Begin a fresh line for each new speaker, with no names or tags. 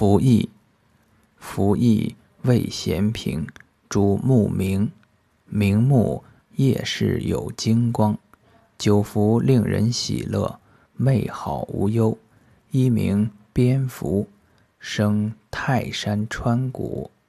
服役，服役味咸平，主目明，明目夜视有精光，久服令人喜乐，寐好无忧。一名蝙蝠，生泰山川谷。